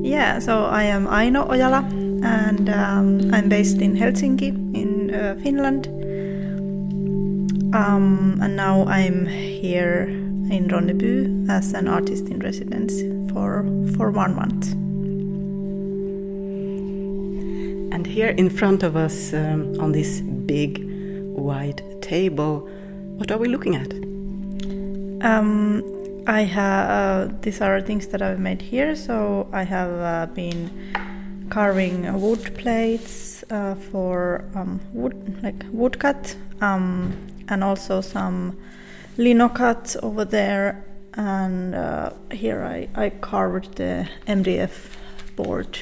Yeah, so I am Aino Ojala and I'm based in Helsinki in Finland. And now I'm here in Ronneby as an artist in residence for 1 month. And here in front of us on this big white table, what are we looking at? I have these are things that I've made here. So I have been carving wood plates for woodcut, and also some linocut over there. And here I carved the MDF board.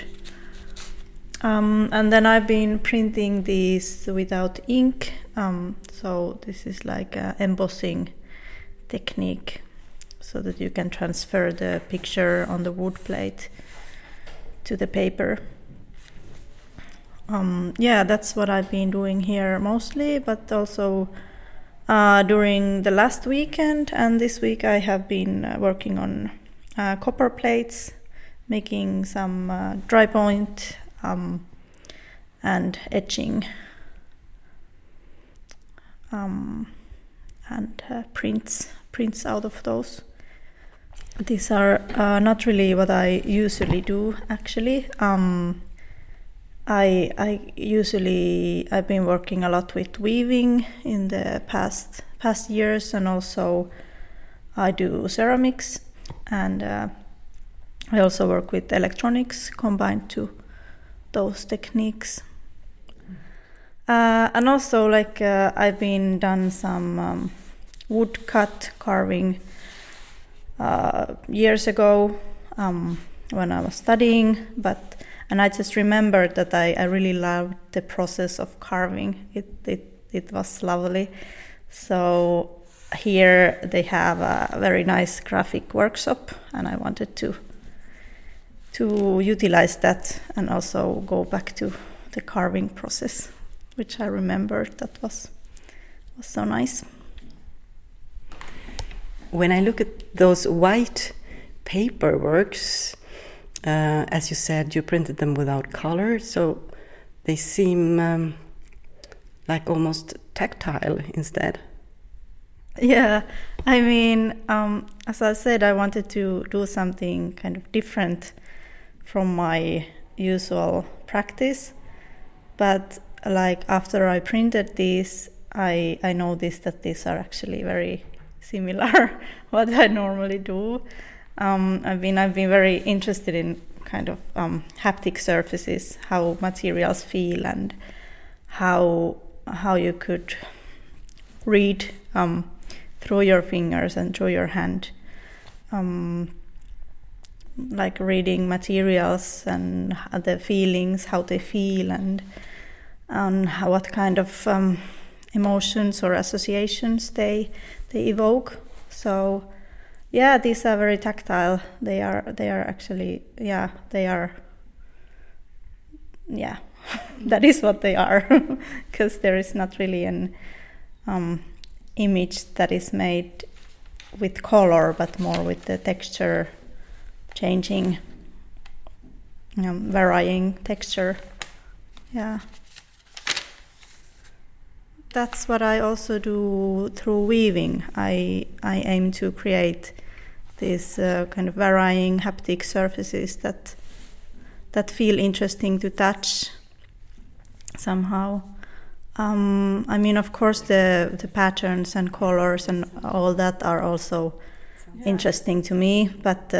And then I've been printing these without ink. So this is like an embossing technique, so that you can transfer the picture on the wood plate to the paper. Yeah, that's what I've been doing here mostly, but also during the last weekend and this week I have been working on copper plates, making some dry point and etching and prints out of those. These are not really what I usually do, actually. I've been working a lot with weaving in the past years, and also I do ceramics, and I also work with electronics combined to those techniques. And also I've been done some woodcut carving years ago when I was studying, and I just remembered that I really loved the process of carving. It was lovely. So here they have a very nice graphic workshop, and I wanted to utilize that and also go back to the carving process, which I remembered that was so nice. When I look at those white paperworks, as you said, you printed them without color, so they seem like almost tactile instead. Yeah, I mean, as I said, I wanted to do something kind of different from my usual practice, but after I printed these, I noticed that these are actually very similar what I normally do. I've been very interested in kind of haptic surfaces, how materials feel, and how you could read through your fingers and through your hand, like reading materials and the feelings, how they feel, and what kind of emotions or associations they evoke. So yeah, these are very tactile. They are actually, yeah, they are, yeah, that is what they are, because there is not really an image that is made with color, but more with the texture changing, varying texture. Yeah. That's what I also do through weaving. I aim to create these kind of varying haptic surfaces that feel interesting to touch somehow. I mean, of course, the patterns and colors and all that are also interesting to me, but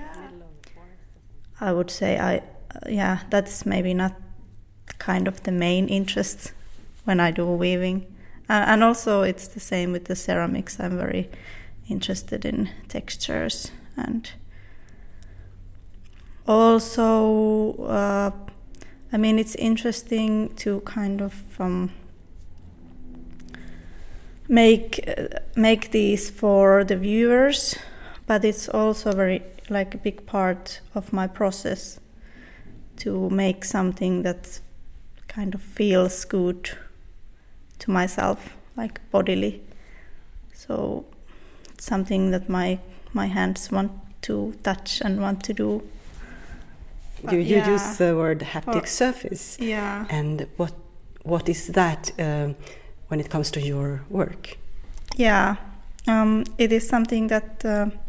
I would say that's maybe not kind of the main interest when I do weaving. And also it's the same with the ceramics. I'm very interested in textures, and also I mean, it's interesting to kind of make these for the viewers, but it's also very a big part of my process to make something that kind of feels good to myself, like bodily. So it's something that my hands want to touch and want to do. You use the word haptic surface. Yeah. And what is that when it comes to your work? Yeah, it is something that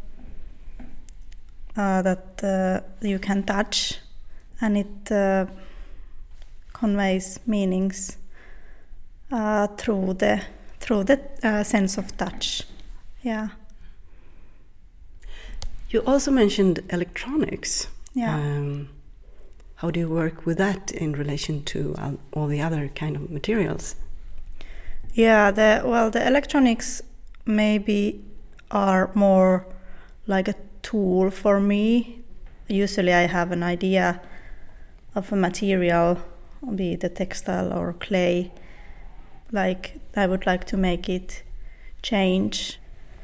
you can touch, and it conveys meanings through the sense of touch. Yeah. You also mentioned electronics. Yeah. How do you work with that in relation to all the other kind of materials? Yeah, the electronics maybe are more like a tool for me. Usually I have an idea of a material, be it a textile or clay, like I would like to make it change.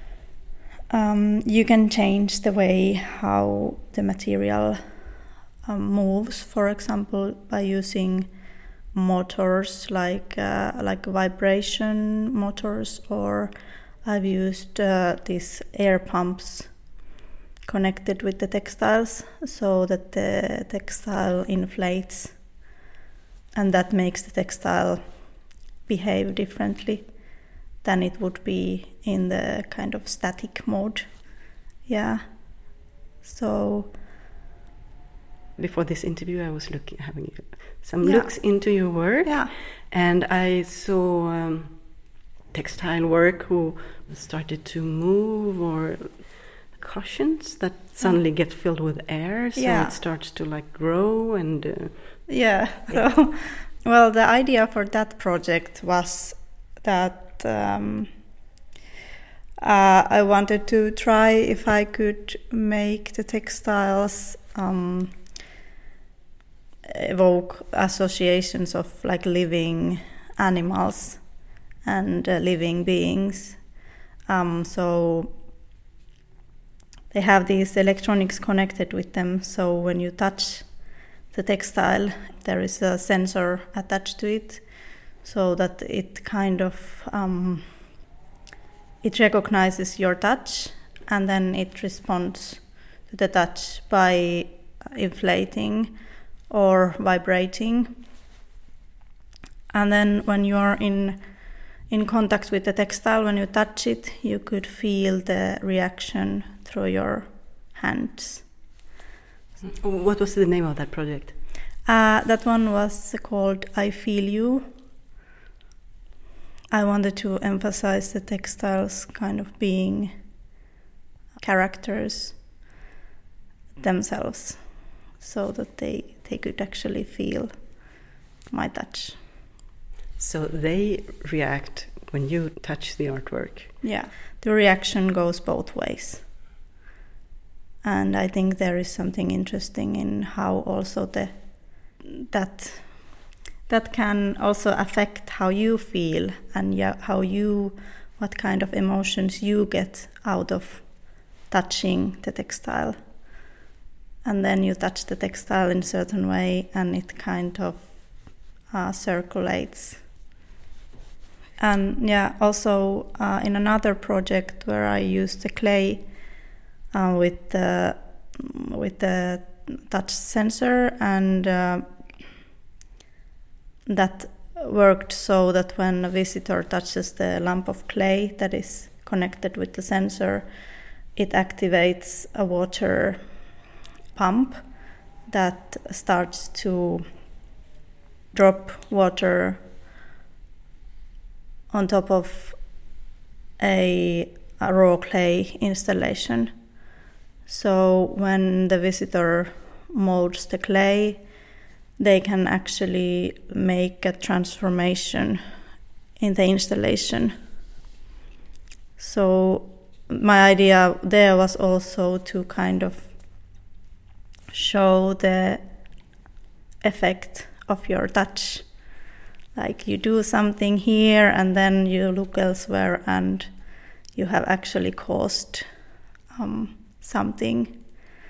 You can change the way how the material moves, for example, by using motors like vibration motors, or I've used these air pumps connected with the textiles so that the textile inflates, and that makes the textile behave differently than it would be in the kind of static mode. Yeah. So before this interview, I was having some looks into your work, and I saw textile work who started to move, or cushions that suddenly get filled with air, so it starts to like grow and. So, well, the idea for that project was that I wanted to try if I could make the textiles evoke associations of like living animals and living beings. So they have these electronics connected with them, so when you touch the textile, there is a sensor attached to it, so that it kind of it recognizes your touch, and then it responds to the touch by inflating or vibrating. And then when you are in contact with the textile, when you touch it, you could feel the reaction through your hands. What was the name of that project? That one was called I Feel You. I wanted to emphasize the textiles kind of being characters themselves, so that they could actually feel my touch. So they react when you touch the artwork? Yeah, the reaction goes both ways. And I think there is something interesting in how also that can also affect how you feel, and what kind of emotions you get out of touching the textile. And then you touch the textile in a certain way, and it kind of circulates. And also in another project where I used the clay with the touch sensor, and that worked so that when a visitor touches the lump of clay that is connected with the sensor, it activates a water pump that starts to drop water on top of a raw clay installation. So when the visitor molds the clay, they can actually make a transformation in the installation. So my idea there was also to kind of show the effect of your touch. Like you do something here and then you look elsewhere and you have actually caused something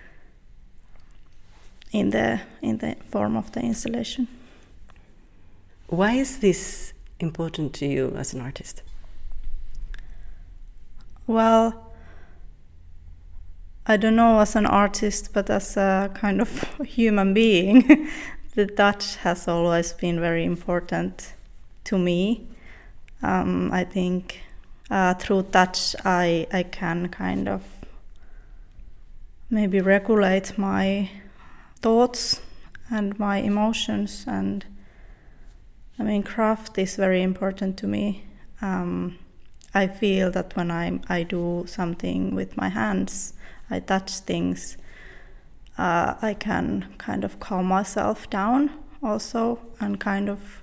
in the form of the installation. Why is this important to you as an artist? Well, I don't know as an artist, but as a kind of human being, the touch has always been very important to me. I think through touch I can kind of maybe regulate my thoughts and my emotions, and I mean craft is very important to me. I feel that when I do something with my hands, I touch things, I can kind of calm myself down also, and kind of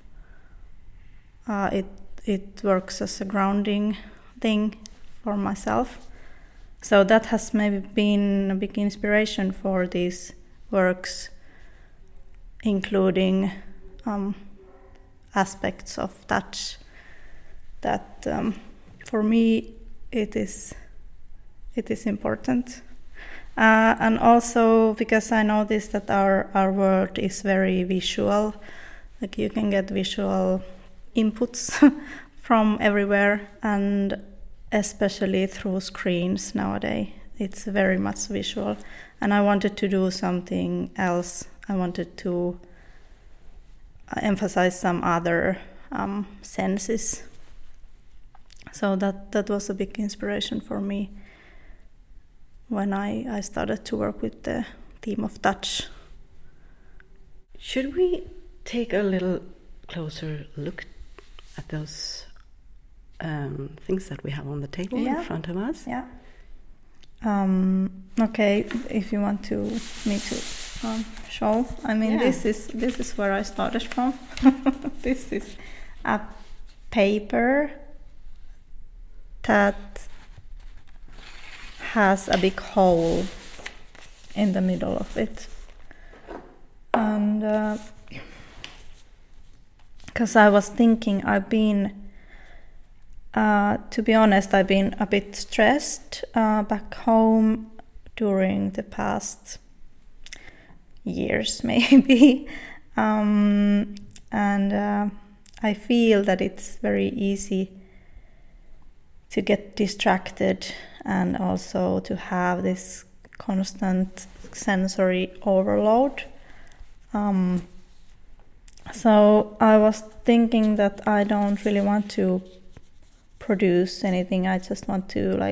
it works as a grounding thing for myself. So that has maybe been a big inspiration for these works, including aspects of touch that for me it is important. And also because I noticed that our world is very visual, like you can get visual inputs from everywhere, and especially through screens nowadays. It's very much visual, and I wanted to do something else. I wanted to emphasize some other senses. So that was a big inspiration for me when I started to work with the theme of touch. Should we take a little closer look at those things that we have on the table in front of us? Yeah. Okay, if you want me to show. I mean, this is where I started from. This is a paper that has a big hole in the middle of it, and because I was thinking, to be honest, I've been a bit stressed back home during the past years, maybe, and I feel that it's very easy to get distracted and also to have this constant sensory overload. So I was thinking that I don't really want to produce anything. I just want to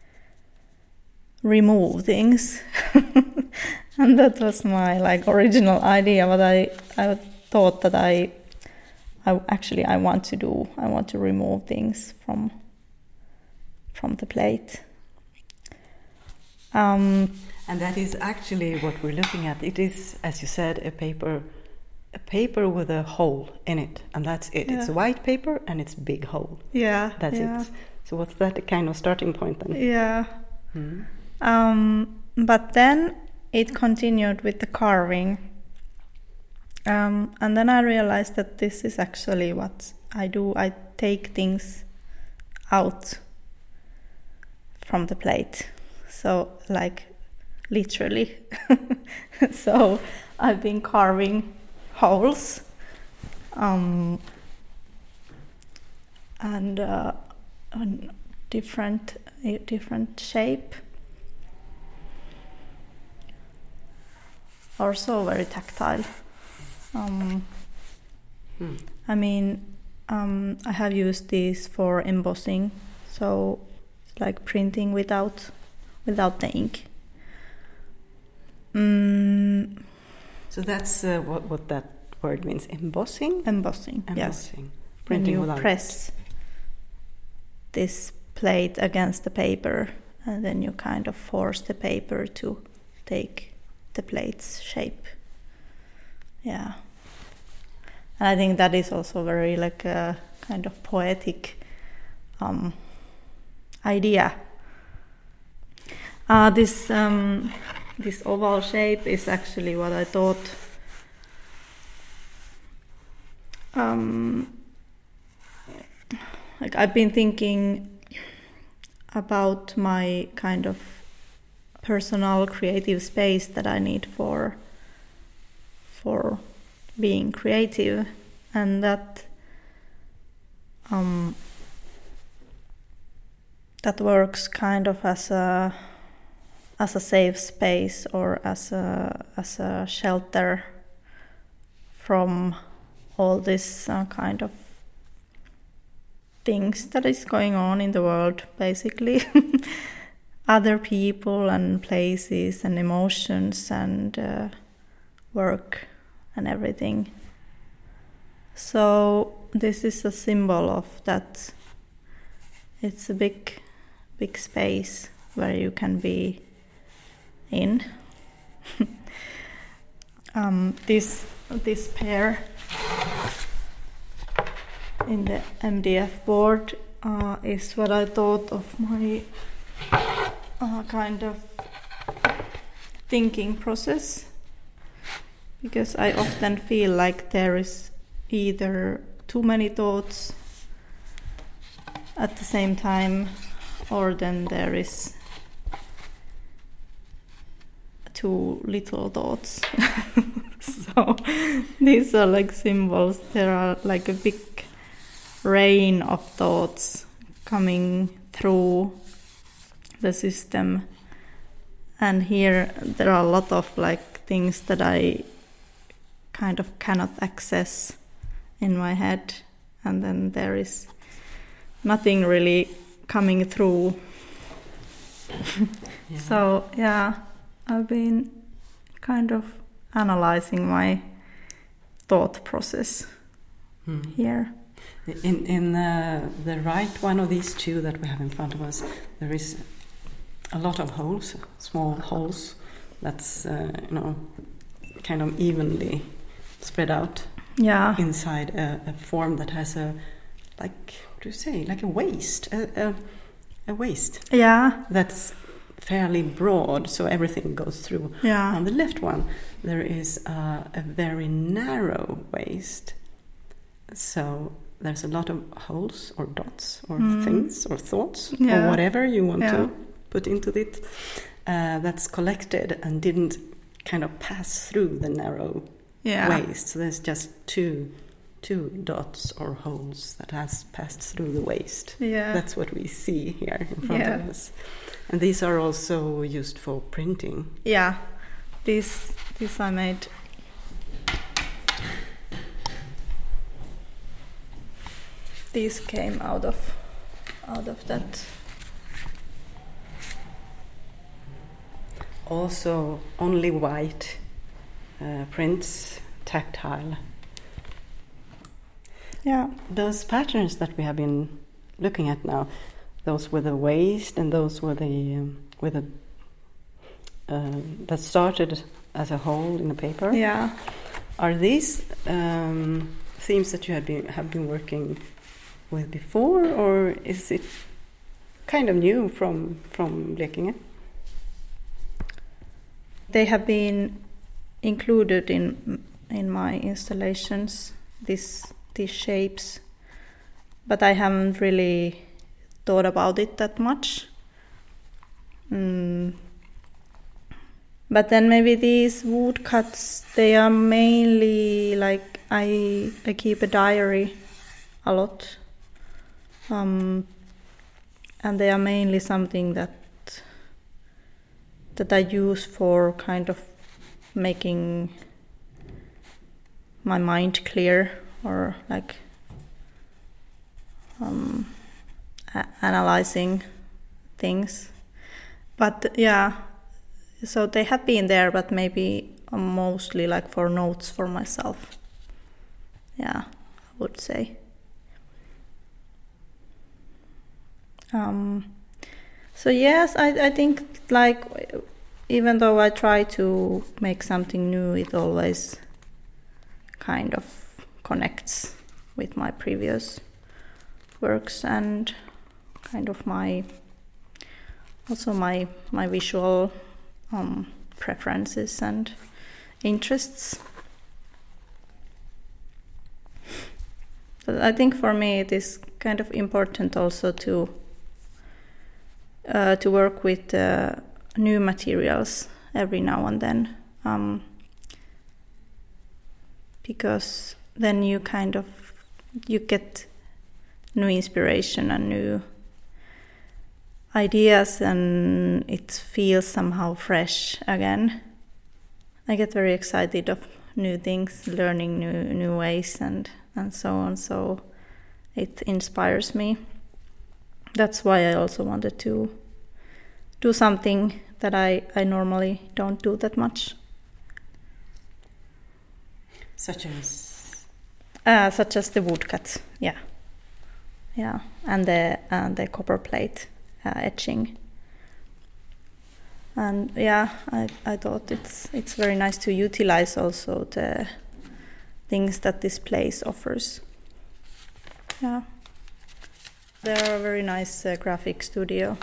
remove things. And that was my original idea, but I thought that I want to remove things from the plate. And that is actually what we're looking at. It is, as you said, a paper with a hole in it, and that's it. Yeah. It's white paper and it's big hole. Yeah, that's it. So what's that kind of starting point then? Yeah. But then it continued with the carving, and then I realized that this is actually what I do. I take things out from the plate, so literally. So I've been carving holes, and different shape. Also very tactile. I mean, I have used these for embossing, so it's like printing without the ink. So that's what that word means. Embossing. Yes. Printing when you press this plate against the paper, and then you kind of force the paper to take the plate's shape. Yeah. And I think that is also very a kind of poetic idea. This oval shape is actually what I thought I've been thinking about my kind of personal creative space that I need for being creative, and that works kind of as as a safe space or as a shelter from all this kind of things that is going on in the world, basically. Other people and places and emotions and work and everything. So this is a symbol of that. It's a big space where you can be in. This pair in the MDF board is what I thought of my kind of thinking process, because I often feel like there is either too many thoughts at the same time, or then there is too little thoughts. So these are like symbols. There are like a big rain of thoughts coming through the system, and here there are a lot of like things that I kind of cannot access in my head, and then there is nothing really coming through. Yeah. So yeah, I've been kind of analyzing my thought process here. In the right one of these two that we have in front of us, there is a lot of holes, small holes, that's kind of evenly spread out. Yeah. Inside a form that has a, like, what do you say, like a waist, a waist. Yeah. That's fairly broad, so everything goes through. Yeah. On the left one, there is a very narrow waist. So there's a lot of holes or dots or things or thoughts or whatever you want to put into it that's collected and didn't kind of pass through the narrow waist. So there's just two dots or holes that has passed through the waist. Yeah. That's what we see here in front of us. And these are also used for printing. Yeah. This I made. These came out of that. Also only white prints, tactile. Yeah. Those patterns that we have been looking at now, those with the waist and those with the that started as a hole in the paper. Yeah. Are these themes that you have been working with before, or is it kind of new from Blekinge? They have been included in my installations, these shapes, but I haven't really thought about it that much. But then maybe these woodcuts, they are mainly like I keep a diary a lot, and they are mainly something that I use for kind of making my mind clear, or like analyzing things. But yeah, so they have been there, but maybe mostly like for notes for myself. Yeah, I would say. So yes, I think like even though I try to make something new, it always kind of connects with my previous works and kind of my visual preferences and interests. But I think for me it is kind of important also to work with new materials every now and then, because then you get new inspiration and new ideas, and it feels somehow fresh again. I get very excited of new things, learning new ways and so on. So it inspires me. That's why I also wanted to do something that I normally don't do that much. Such as the woodcut, yeah, and the copper plate etching. And yeah, I thought it's very nice to utilize also the things that this place offers. Yeah, they're a very nice graphic studio.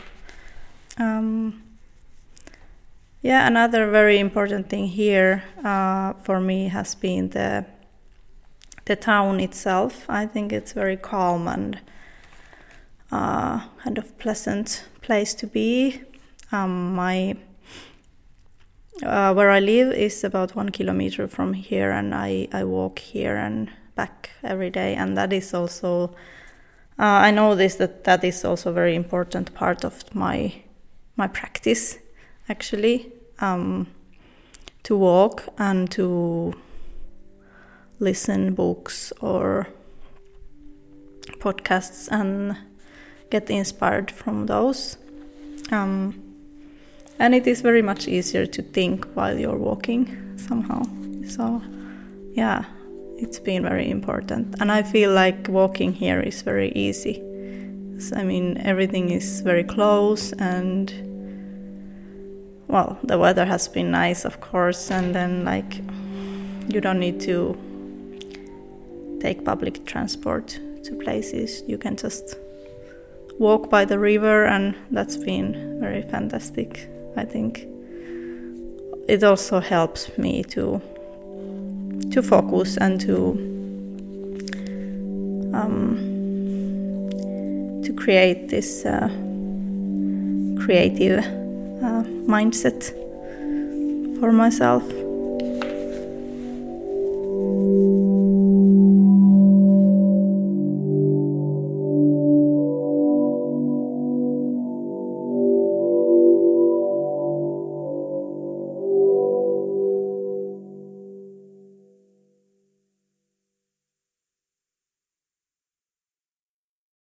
Yeah, another very important thing here for me has been the town itself. I think it's very calm and kind of pleasant place to be. Where I live is about 1 kilometer from here, and I walk here and back every day, and that is also I noticed that is also a very important part of my practice, actually, to walk and to listen books or podcasts and get inspired from those. And it is very much easier to think while you're walking somehow. So yeah, it's been very important. And I feel like walking here is very easy. I mean, everything is very close, and well, the weather has been nice, of course, and then like you don't need to take public transport to places. You can just walk by the river, and that's been very fantastic. I think it also helps me to focus and to create this creative mindset for myself.